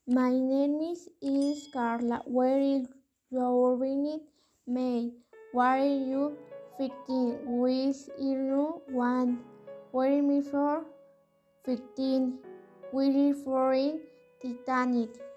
My name is Carla. Where is your May? May. What are you 15? With you 1. Where is me for 15? We are for in Titanic.